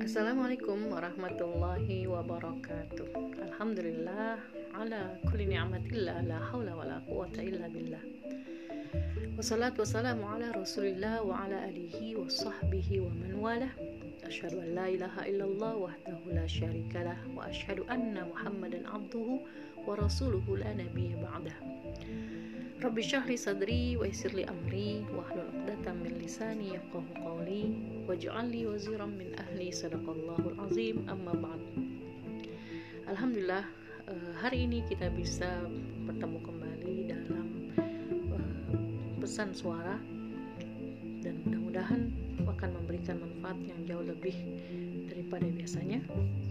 Assalamualaikum warahmatullahi wabarakatuh. Alhamdulillah ala kulli ni'matillah, la haula wala quwata illa billah. Wassalatu wassalamu ala rasulillah wa ala alihi wa sahbihi wa man walah. Asyhadu an la ilaha illallah wahdahu la syarikalah wa asyhadu anna Muhammadan abduhu wa rasuluhu la nabiyya ba'dah. Rabbi syrahli sadri wa yassirli amri wahlul 'uqdatam min lisani yafqahu qawli waj'alni waziran min ahli, sadaqallahul azim. Amma ba'd. Alhamdulillah, hari ini kita bisa bertemu kembali dalam pesan suara, dan mudah-mudahan akan memberikan manfaat yang jauh lebih daripada biasanya.